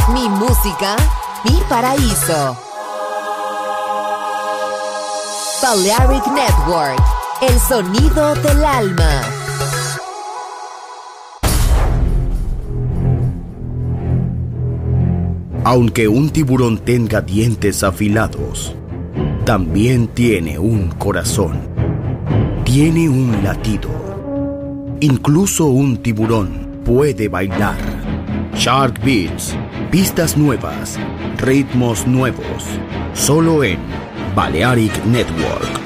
Mi música, mi paraíso. Balearic Network, el sonido del alma. Aunque un tiburón tenga dientes afilados, también tiene un corazón. Tiene un latido. Incluso un tiburón puede bailar. Shark Beats, pistas nuevas, ritmos nuevos, solo en Balearic Network.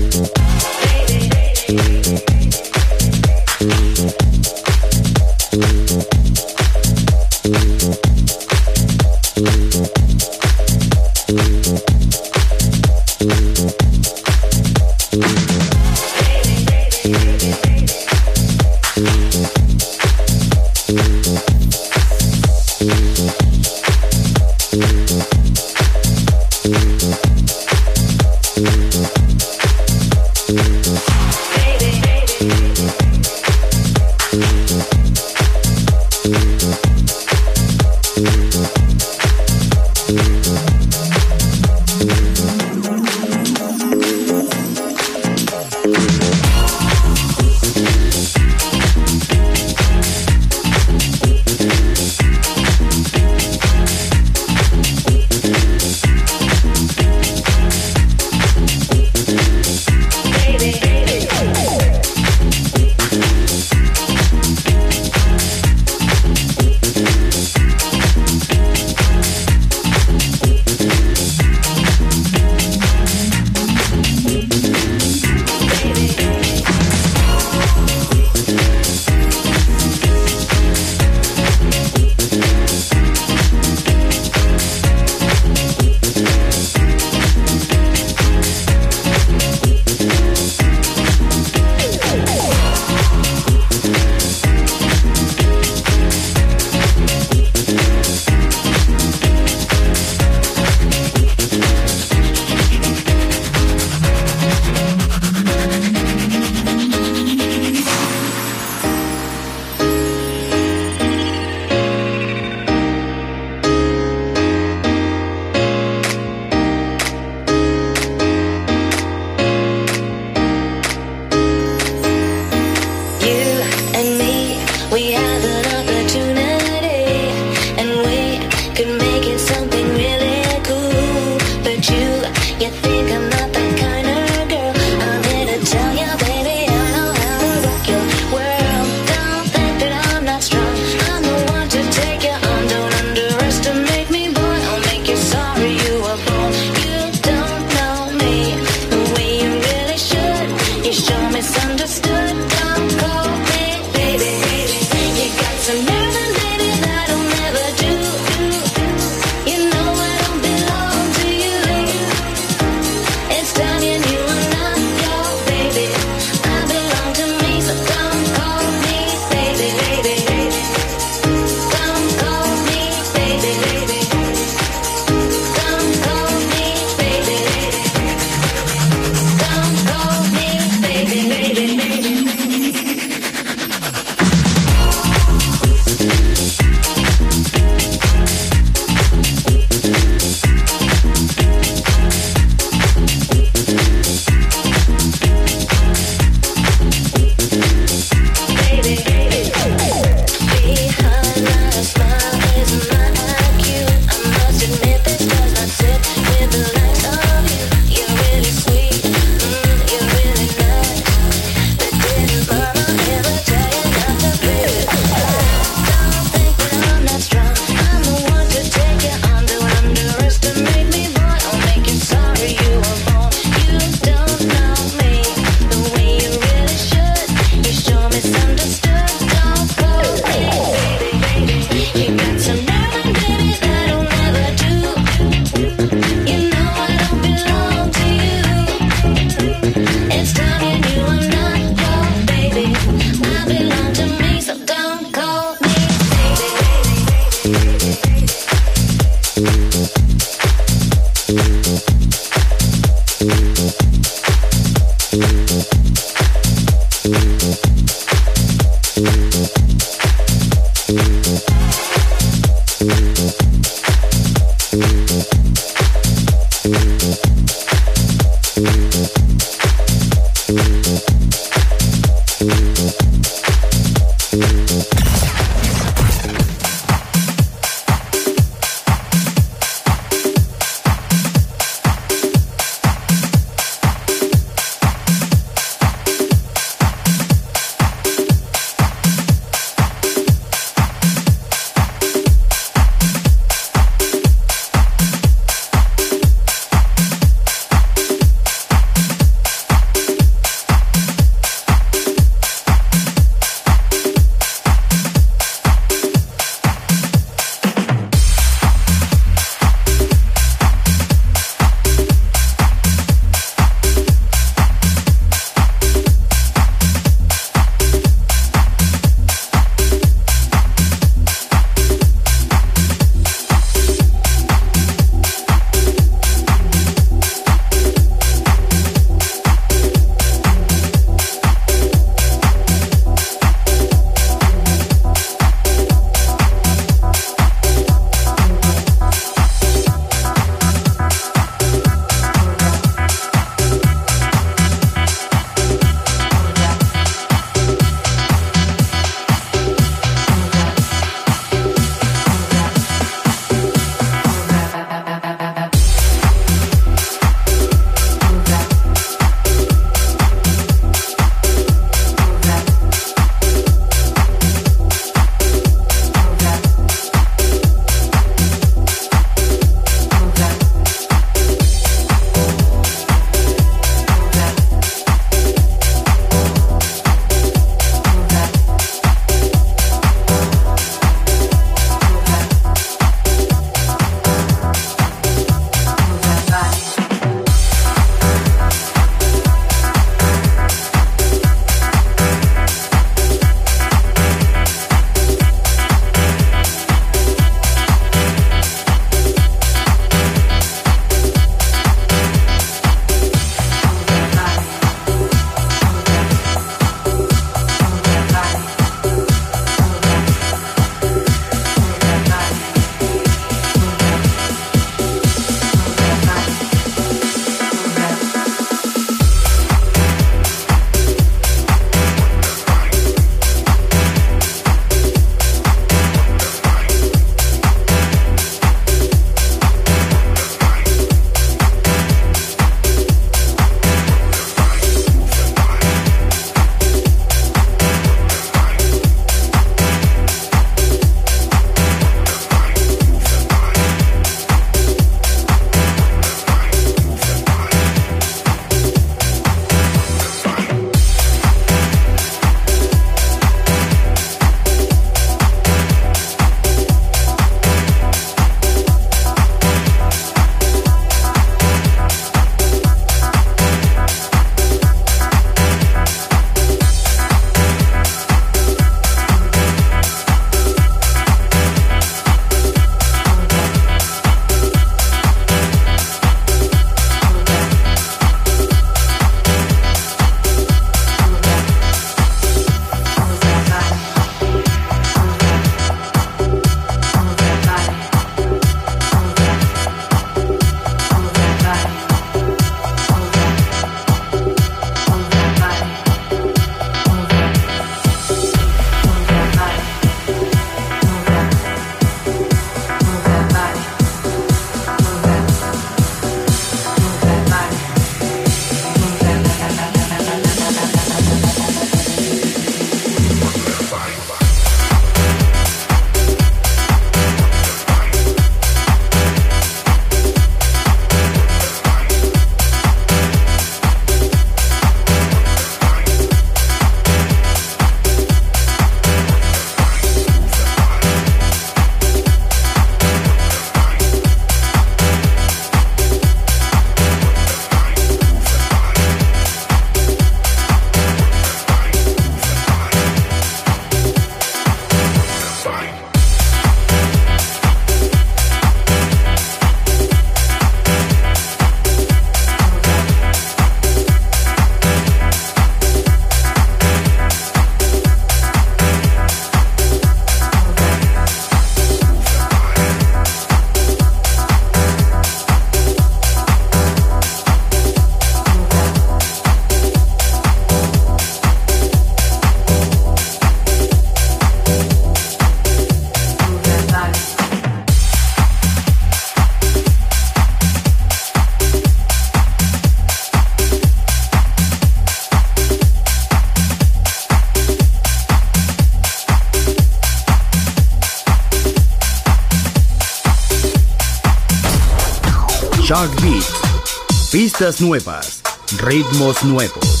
Shark Beats. Pistas nuevas, ritmos nuevos.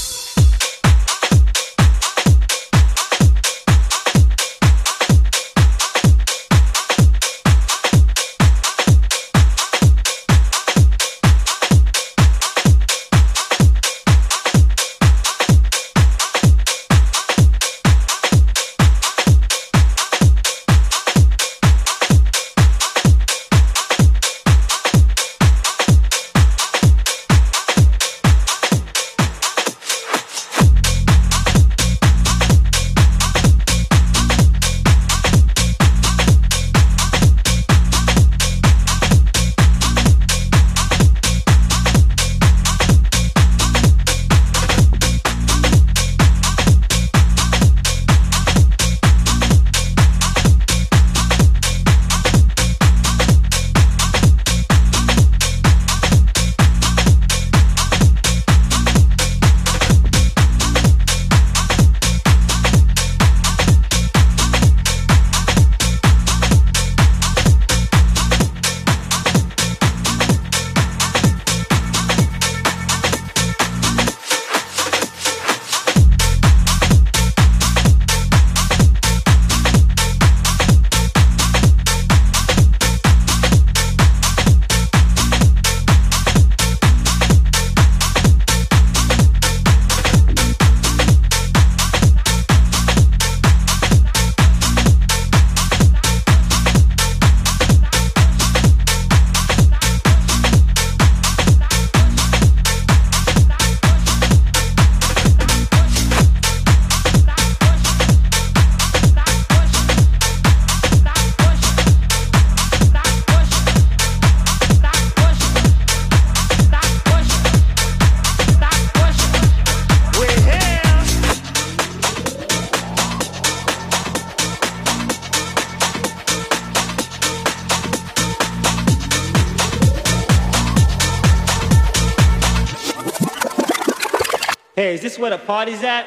Hey, is this where the party's at?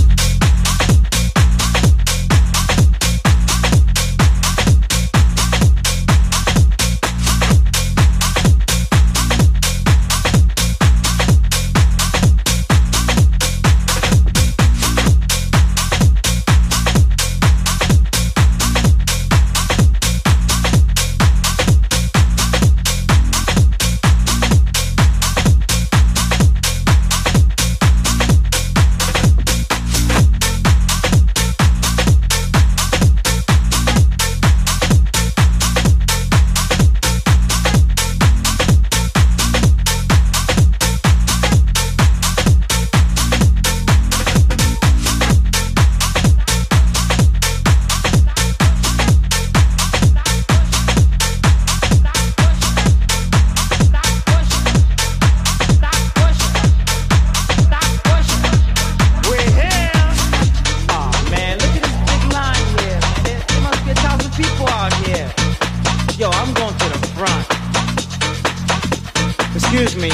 Excuse me.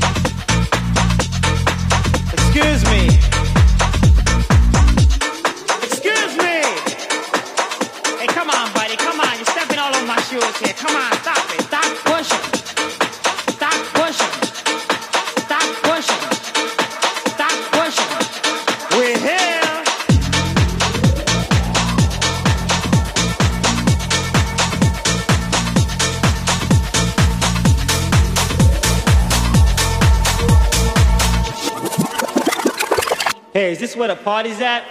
Excuse me. Excuse me. Hey, come on, buddy. Come on. You're stepping all over my shoes here. Come on. Stop it. Stop pushing. Stop pushing. Stop pushing. Stop pushing. We're here. Hey, is this where the party's at?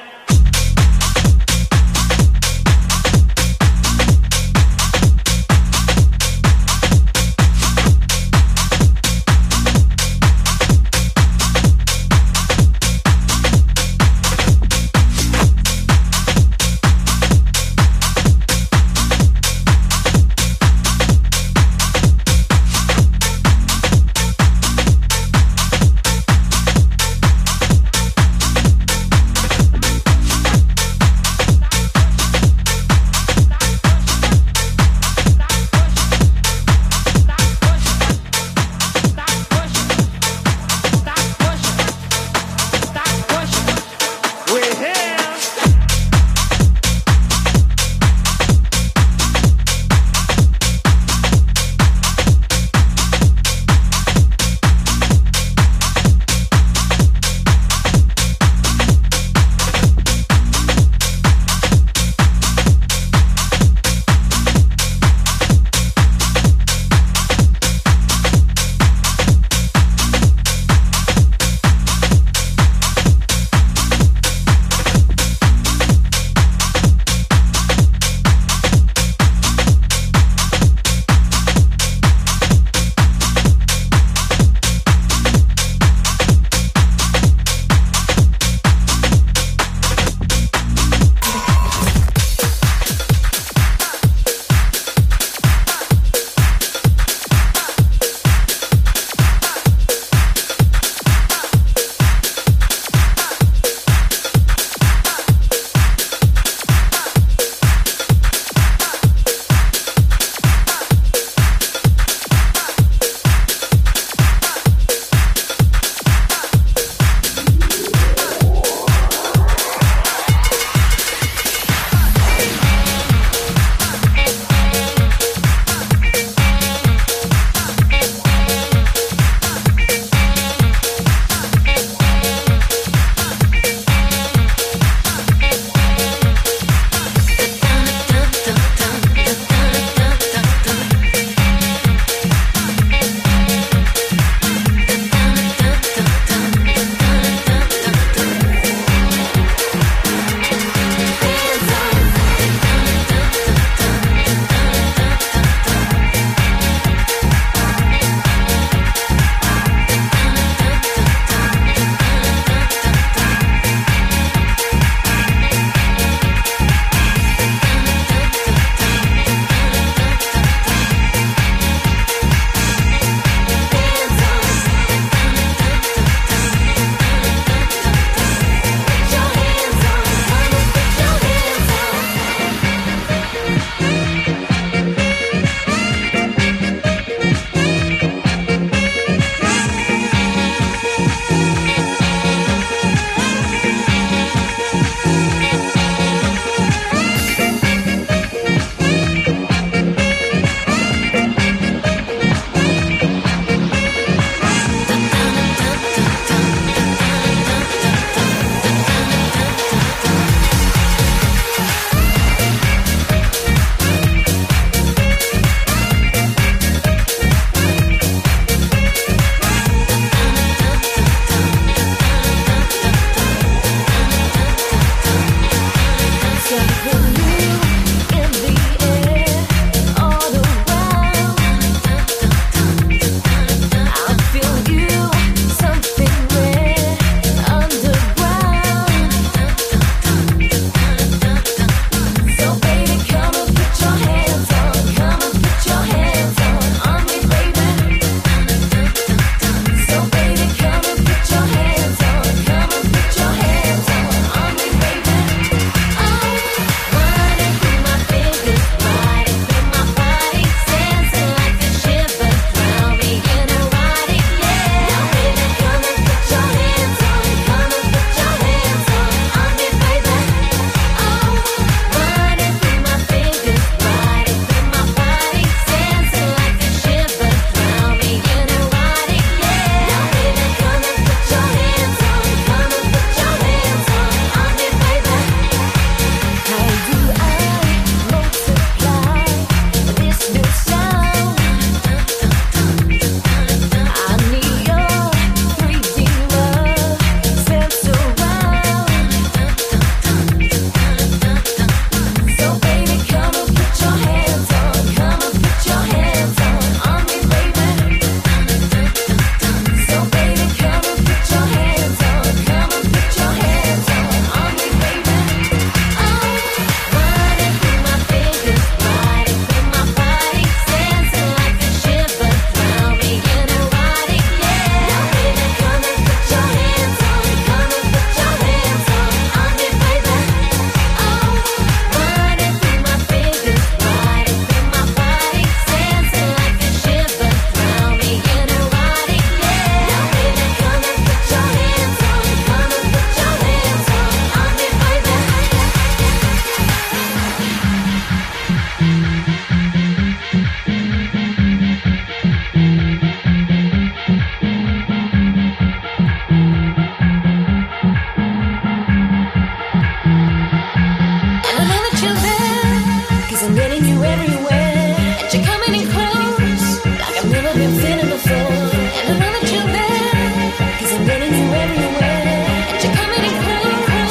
getting you everywhere, and you're coming in close, like I've never been feeling before. And I know that you're there, 'cause I'm getting you everywhere, and you're coming in close.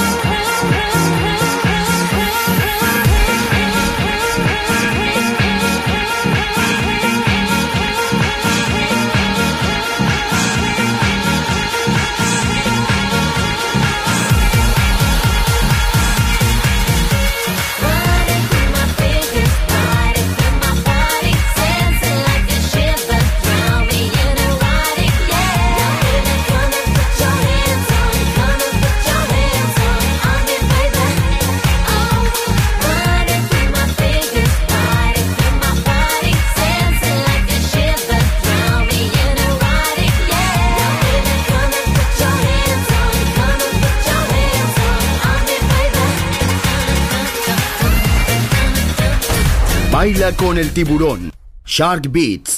Baila con el tiburón. Shark Beats.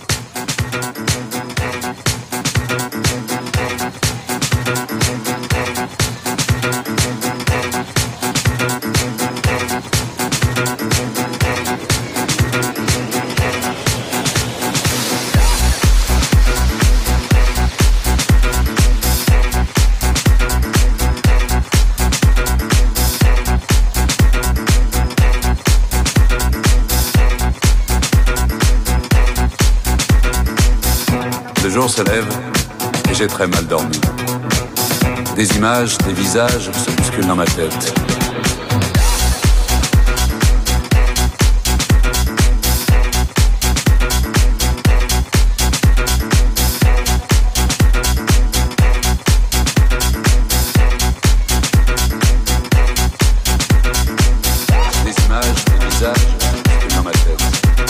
Le jour se lève et j'ai très mal dormi. Des images, des visages se bousculent dans ma tête. Des images, des visages se bousculent dans ma tête.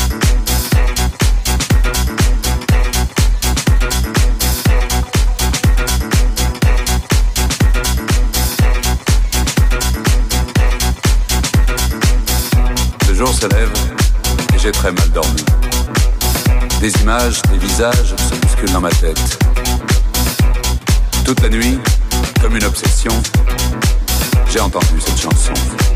Le jour se lève et j'ai très mal dormi. Des images, des visages se bousculent dans ma tête. Toute la nuit, comme une obsession, j'ai entendu cette chanson.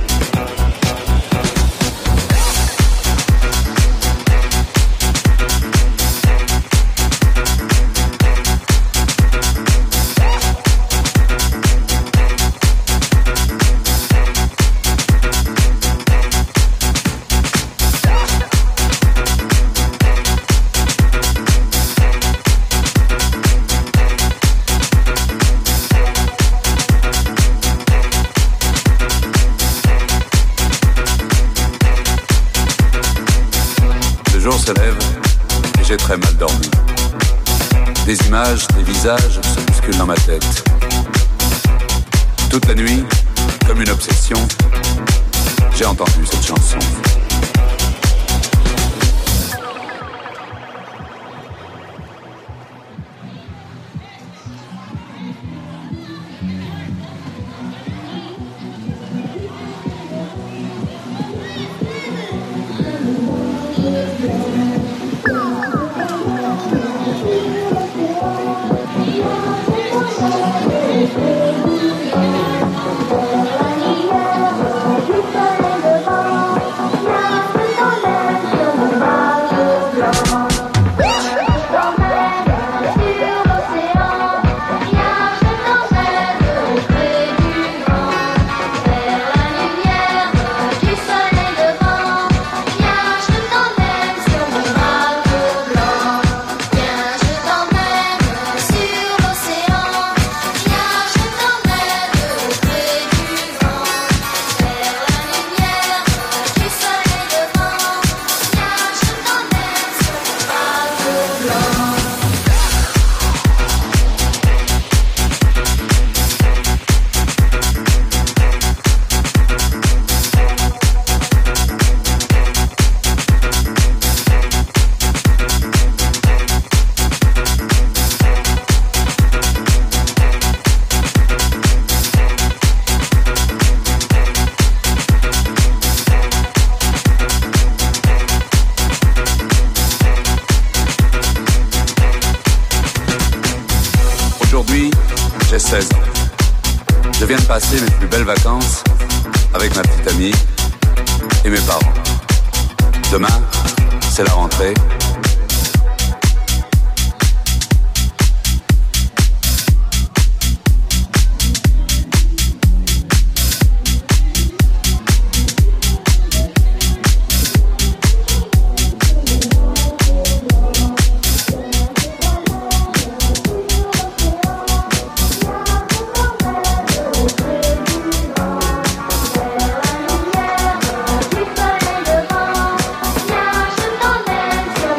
Le jour se lève et j'ai très mal dormi. Des images, des visages se bousculent dans ma tête. Toute la nuit, comme une obsession, j'ai entendu cette chanson. Aujourd'hui, j'ai 16 ans. Je viens de passer mes plus belles vacances avec ma petite amie et mes parents. Demain, c'est la rentrée. Dans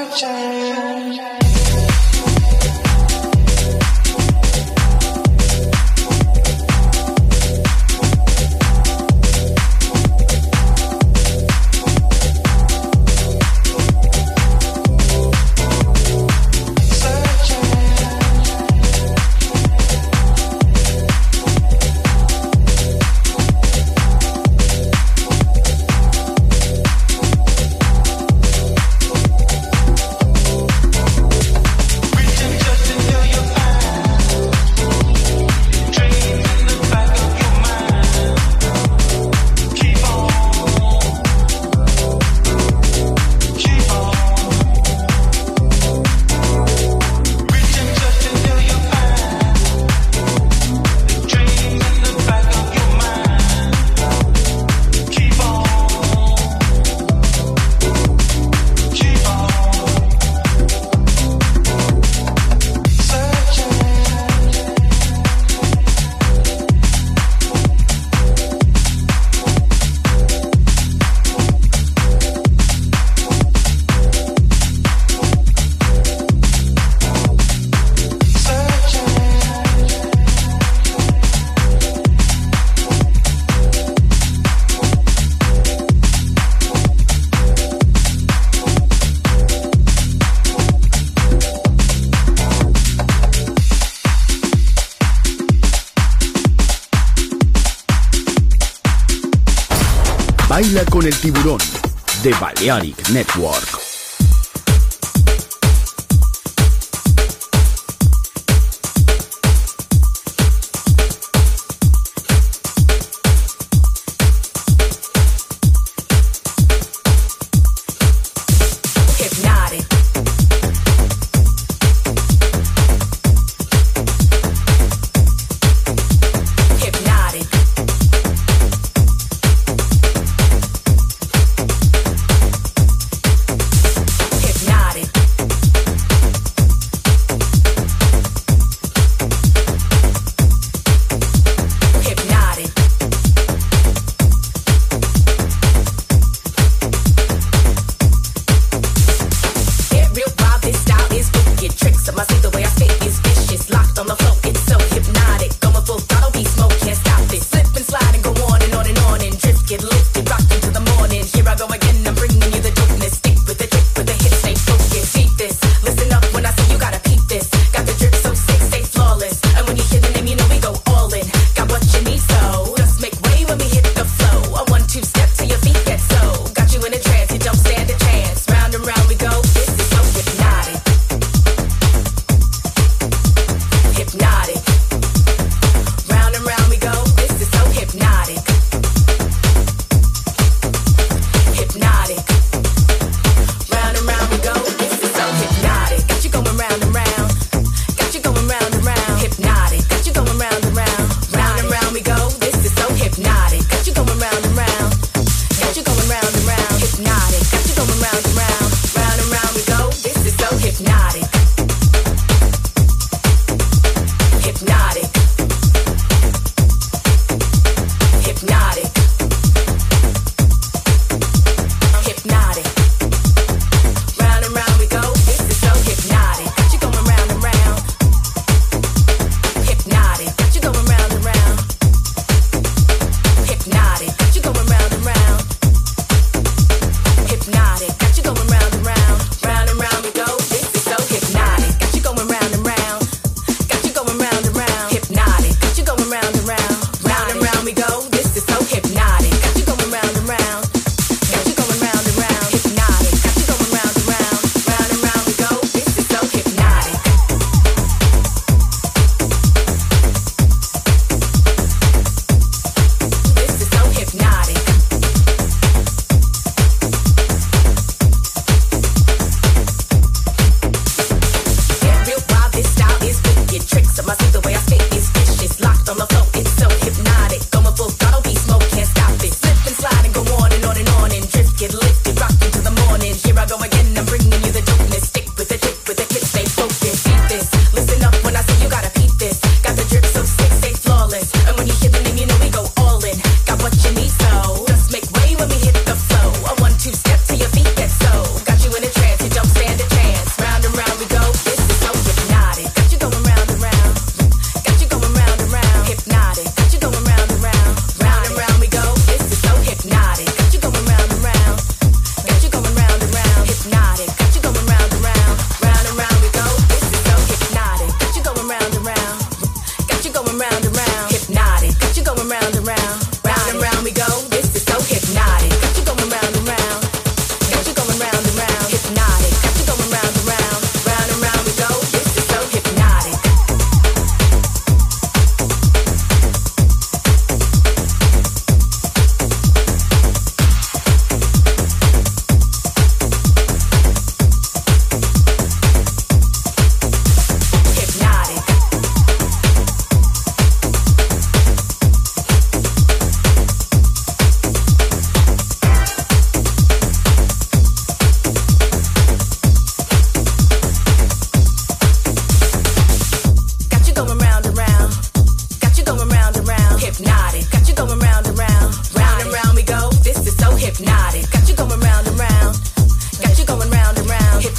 Baila con el tiburón de Balearic Network.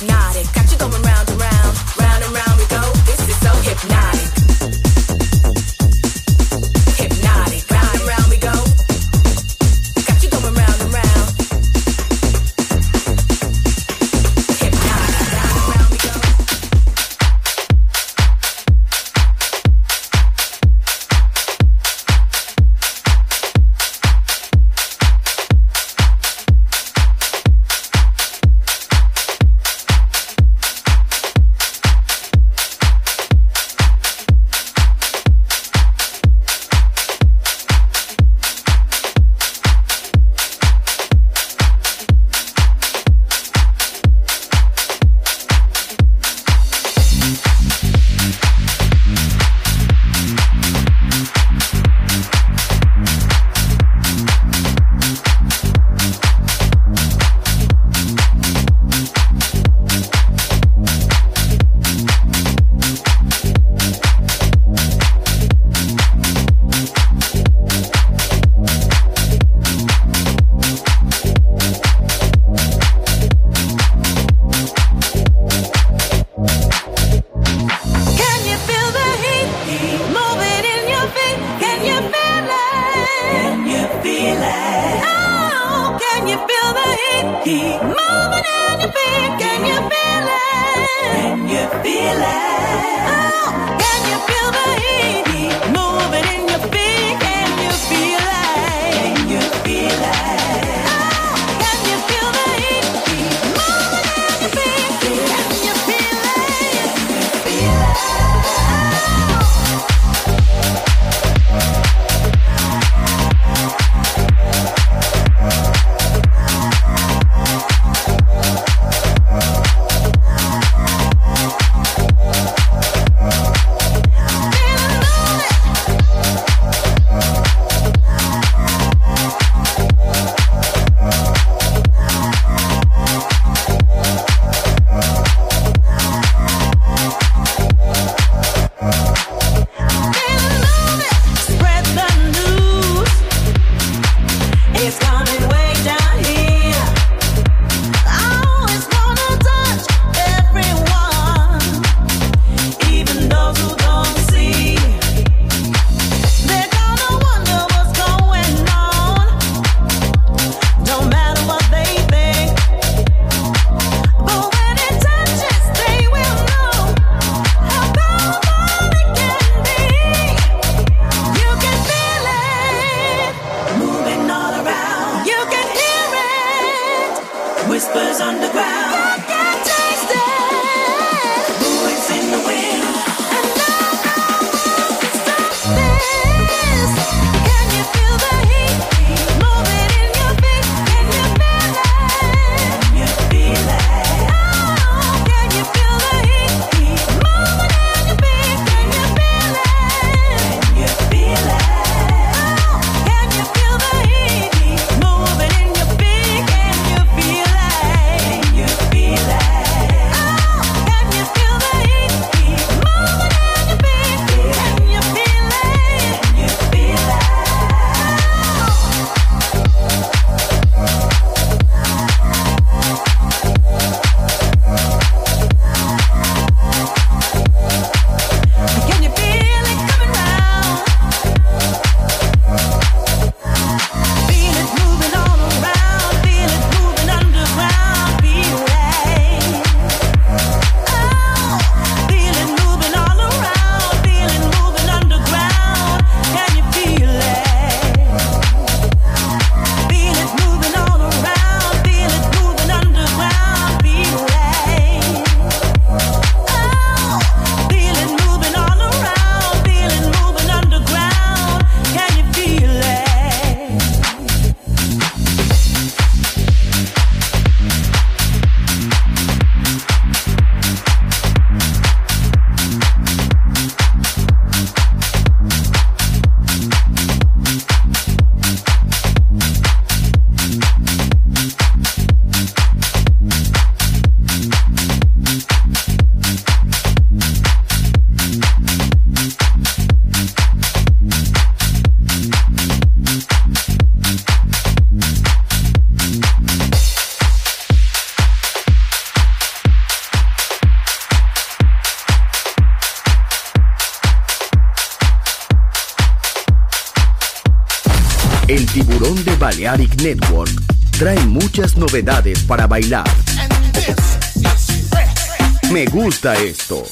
hypnotic. Got you going round and round, round and round we go. This is so hypnotic. Hypnotic, round and round we go. Got you going round and round. Hypnotic, round and round we go. Tiburón de Balearic Network trae muchas novedades para bailar. Me gusta esto.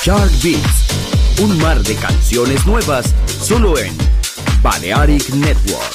Chart Beats, un mar de canciones nuevas solo en Balearic Network.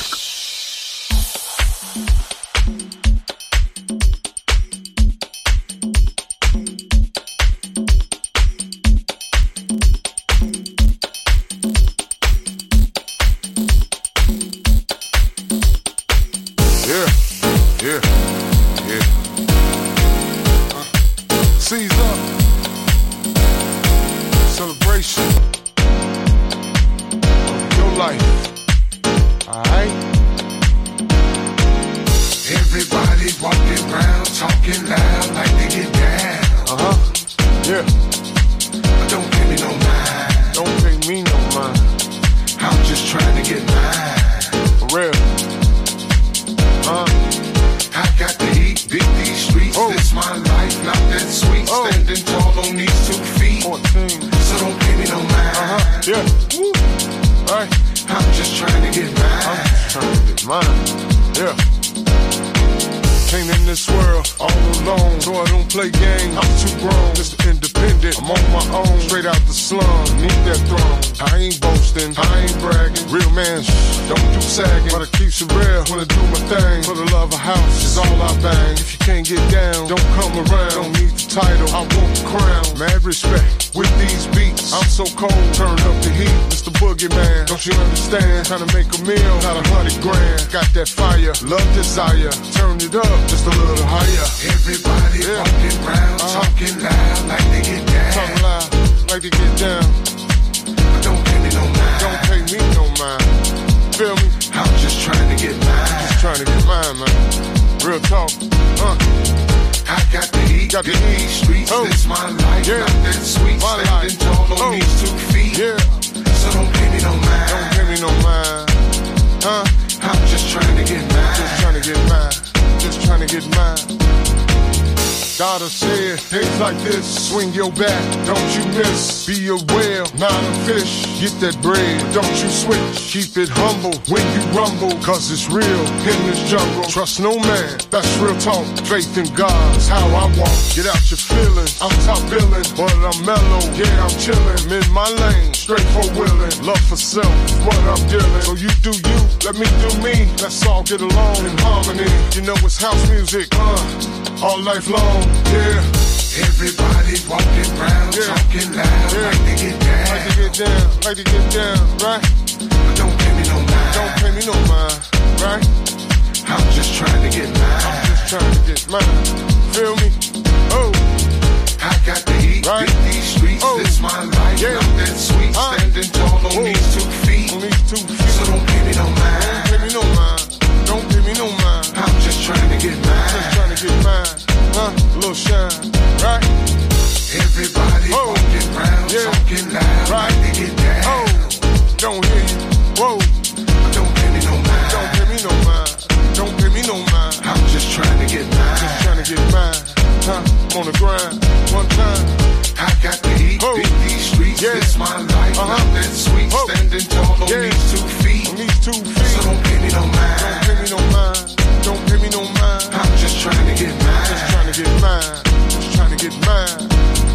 Trying to make a meal, not $100,000. Got that fire, love, desire. Turn it up just a little higher. Everybody walking around, talking loud like they get down. Talking loud like they get down. But don't pay me no mind. Don't pay me no mind. Feel me? I'm just trying to get mine. Just trying to get mine, man. Real talk. I got the heat, got these streets. This my life, not that sweet. Standing tall on these 2 feet. Yeah. So don't pay me no mind. Don't pay me no mind. I'm just trying to get mine. Just trying to get mine. Just trying to get mine. Daughter said, things like this, swing your bat, don't you miss. Be a whale, not a fish. Get that bread, don't you switch. Keep it humble when you rumble, cause it's real in this jungle. Trust no man, that's real talk. Faith in God's how I walk. Get out your feelings, I'm top billing, but I'm mellow, yeah, I'm chillin'. I'm in my lane, straight for willin'. Love for self, what I'm dealing. So you do you, let me do me. Let's all get along in harmony. You know it's house music, all life long, yeah. Everybody walking around, talking loud, like they get down. Like they get down, like they get down, right? But don't pay me no mind. Don't pay me no mind, right? I'm just trying to get mine. I'm just trying to get mine. Feel me? Oh. I got the heat, right? With these streets, this my life, not that sweet. Standing tall on these 2 feet. On these 2 feet. So don't pay me no mind. Don't pay me no mind. Don't pay me no mind. I'm just trying to get mine. Just trying to get mine. A little shine, right? Everybody walking around, talking loud, right? Like they get down. Don't hear you, whoa. Don't pay me no mind. Don't pay me no mind. Don't pay me no mind. I'm just trying to get mine. Just trying to get mine. I'm on the grind, one time. I got the heat, beat these streets. This my life, not that sweet. Standing tall on these 2 feet. On these 2 feet. So don't pay me no mind. Don't pay me no mind. Don't pay me no mind. I'm just trying to get mine. Just trying to get mine. Just trying to get mine.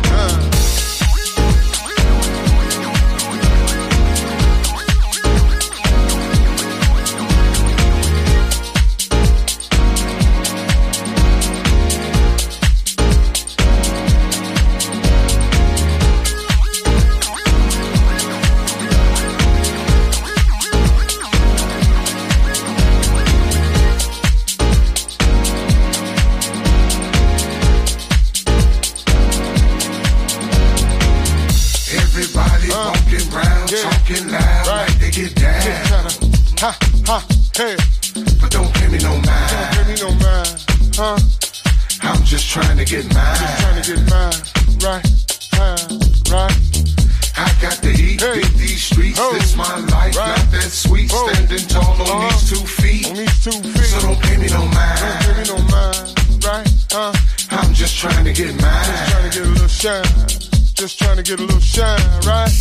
Talking loud, right? Like they get down. Hey. But don't pay me no mind. Don't pay me no mind, I'm just trying to get mine. Just trying to get mine, right? Right. I got the heat, beat these streets. This my life, not that sweet. Standing tall on these 2 feet. On these 2 feet. So don't pay me no mind. Don't pay me no mind, right? I'm just trying to get mine. Just trying to get a little shine. Just trying to get a little shine, right?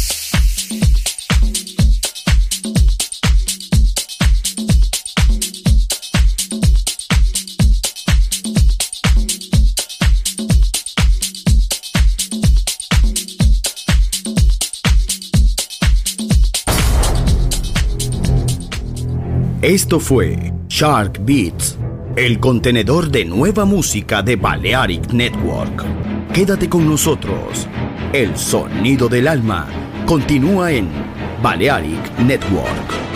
Esto fue Shark Beats, el contenedor de nueva música de Balearic Network. Quédate con nosotros. El sonido del alma continúa en Balearic Network.